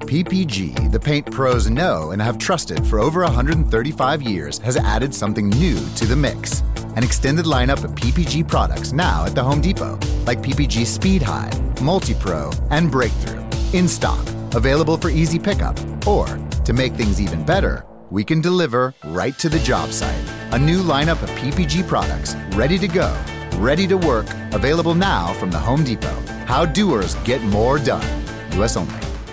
PPG, the paint pros know and have trusted for over 135 years, has added something new to the mix. An extended lineup of PPG products now at the Home Depot, like PPG Speed High, Multi-Pro, and Breakthrough. In stock, available for easy pickup, or, to make things even better, we can deliver right to the job site. A new lineup of PPG products, ready to go, ready to work, available now from the Home Depot. How doers get more done. US only.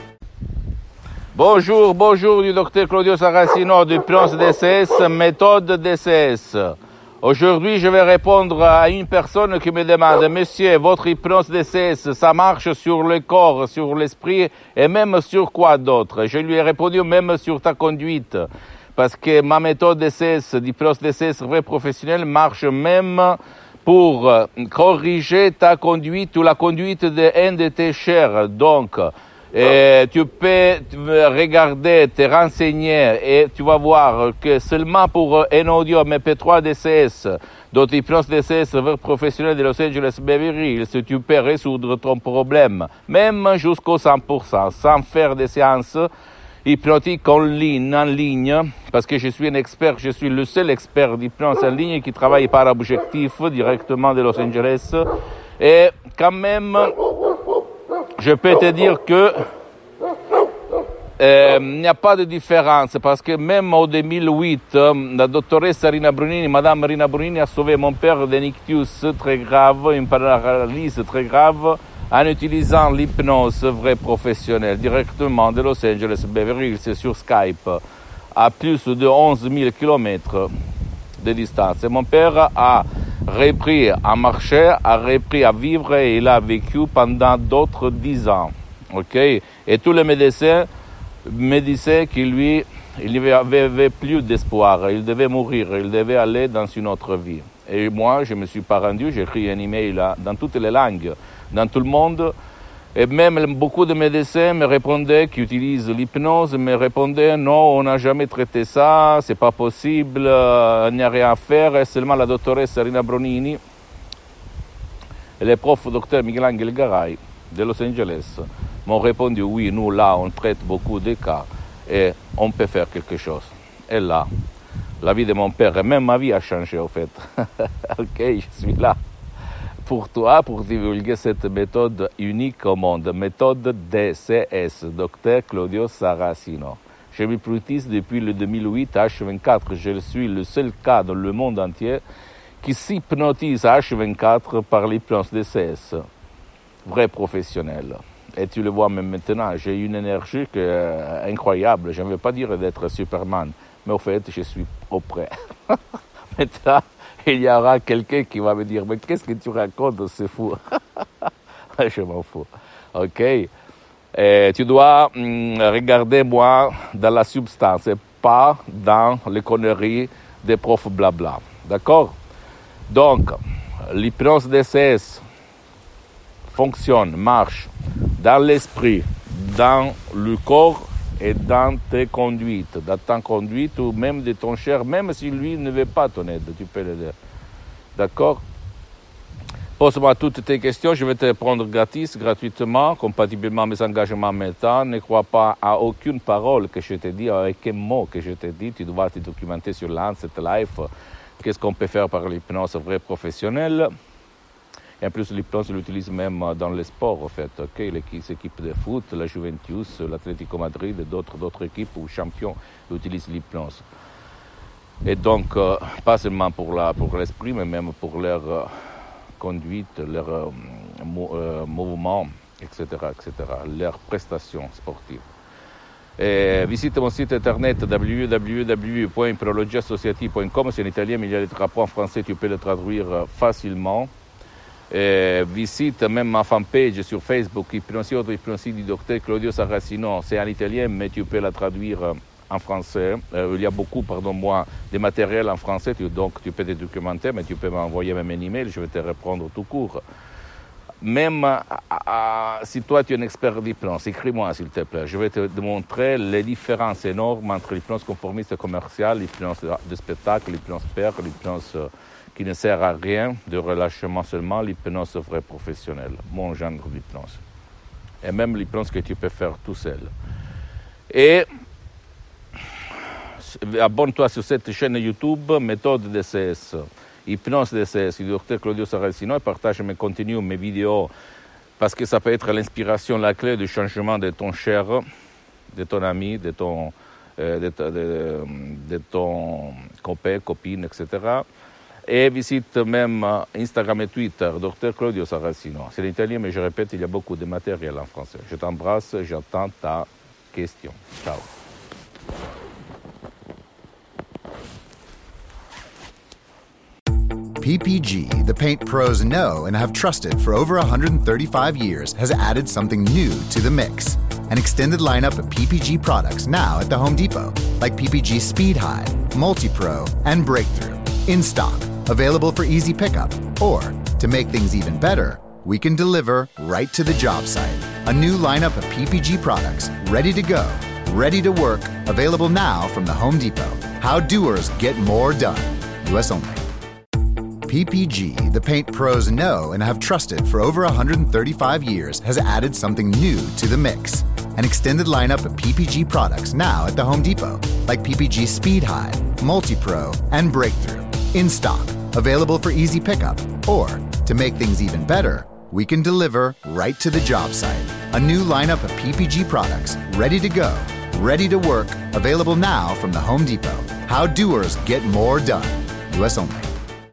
Bonjour du docteur Claudio Saracino du Prince DCS, méthode DCS. Aujourd'hui, je vais répondre à une personne qui me demande, monsieur, votre hypnose DCS, ça marche sur le corps, sur l'esprit et même sur quoi d'autre? Je lui ai répondu même sur ta conduite, parce que ma méthode DCS, d'hypnose DCS vrai professionnel, marche même pour corriger ta conduite ou la conduite d'un de tes chers. Donc, tu peux regarder, te renseigner et tu vas voir que seulement pour un audio MP3 DCS, d'autres hypnose DCS professionnel de Los Angeles Beverly Hills, tu peux résoudre ton problème, même jusqu'au 100%, sans faire des séances hypnotiques en ligne, parce que je suis un expert, je suis le seul expert d'hypnose en ligne qui travaille par objectif directement de Los Angeles. Et quand même, je peux te dire que il n'y a pas de différence, parce que même en 2008, la doctoresse Rina Brunini, Madame Rina Brunini, a sauvé mon père d'un ictus très grave, une paralysie très grave, en utilisant l'hypnose vraie professionnelle directement de Los Angeles Beverly Hills sur Skype, à plus de 11 000 kilomètres de distance. Et mon père a repris à marcher, a repris à vivre et il a vécu pendant d'autres 10 ans. Ok? Et tous les médecins me disaient qu'il n'y avait plus d'espoir, il devait mourir, il devait aller dans une autre vie. Et moi, je ne me suis pas rendu, j'ai écrit un email dans toutes les langues, dans tout le monde. Et même beaucoup de médecins me répondaient, qui utilisent l'hypnose, me répondaient non, on n'a jamais traité ça, c'est pas possible, il n'y a rien à faire. Et seulement la doctoresse Rina Bronini et le prof docteur Miguel Angel Garay de Los Angeles m'ont répondu oui, nous là on traite beaucoup de cas et on peut faire quelque chose. Et là, la vie de mon père et même ma vie a changé au fait. Ok, je suis là pour toi, pour divulguer cette méthode unique au monde, méthode DCS, Dr Claudio Saracino. Je m'hypnotise depuis le 2008 à H24. Je suis le seul cas dans le monde entier qui s'hypnotise à H24 par l'hypnose DCS, vrai professionnel. Et tu le vois même maintenant, j'ai une énergie incroyable. Je ne veux pas dire d'être Superman, mais au fait, je suis auprès. Maintenant, il y aura quelqu'un qui va me dire, mais qu'est-ce que tu racontes, c'est fou. Je m'en fous. Ok. Et tu dois regarder moi dans la substance et pas dans les conneries des profs blabla. D'accord? Donc, l'hypnose DCS fonctionne, marche dans l'esprit, dans le corps et dans tes conduites, dans ta conduite ou même de ton cher, même si lui ne veut pas ton aide, tu peux l'aider. D'accord? Pose-moi toutes tes questions, je vais te répondre gratuitement, compatiblement à mes engagements maintenant. Ne crois pas à aucune parole que je te dis, à aucun mot que je te dis. Tu dois te documenter sur Lancet Life. Qu'est-ce qu'on peut faire par l'hypnose vraie professionnelle? Et en plus, l'hypnose, je l'utilise même dans le sport, en fait. Okay? Les équipes de foot, la Juventus, l'Atlético Madrid et d'autres équipes ou champions utilisent l'hypnose. Et donc, pas seulement pour l'esprit, mais même pour leur conduite, leur mouvement, etc., leurs prestations sportives. Et visite mon site internet www.hypnologiassociative.com. C'est en italien, mais il y a des drapeaux en français, tu peux le traduire facilement. Et visite même ma fanpage sur Facebook, Hypnosie du docteur Claudio Saracino. C'est en italien, mais tu peux la traduire en français. Il y a beaucoup, de matériel en français, donc tu peux te documenter, mais tu peux m'envoyer même un email, je vais te répondre tout court. Même si toi tu es un expert d'hypnose, écris-moi s'il te plaît. Je vais te démontrer les différences énormes entre l'hypnose conformiste commerciale, l'hypnose de spectacle, l'hypnose père, l'hypnose qui ne sert à rien, de relâchement seulement, l'hypnose vraie professionnelle, mon genre d'hypnose. Et même l'hypnose que tu peux faire tout seul. Et abonne-toi sur cette chaîne YouTube, Méthode DCS, Hypnose DCS, du Dr Claudio Saracino, et partage mes contenus, mes vidéos, parce que ça peut être l'inspiration, la clé du changement de ton cher, de ton ami, de ton copain, copine, etc. Et visite même Instagram et Twitter, Dr Claudio Saracino. C'est l'italien, mais je répète, il y a beaucoup de matériel en français. Je t'embrasse, j'attends ta question. Ciao. PPG, the paint pros know and have trusted for over 135 years, has added something new to the mix. An extended lineup of PPG products now at the Home Depot, like PPG Speed Hide, Multi-Pro, and Breakthrough. In stock, available for easy pickup, or, to make things even better, we can deliver right to the job site. A new lineup of PPG products, ready to go, ready to work, available now from the Home Depot. How doers get more done. US only. PPG, the paint pros know and have trusted for over 135 years, has added something new to the mix. An extended lineup of PPG products now at the Home Depot, like PPG Speed Hide, Multi-Pro, and Breakthrough. In stock, available for easy pickup, or, to make things even better, we can deliver right to the job site. A new lineup of PPG products, ready to go, ready to work, available now from the Home Depot. How doers get more done. US only.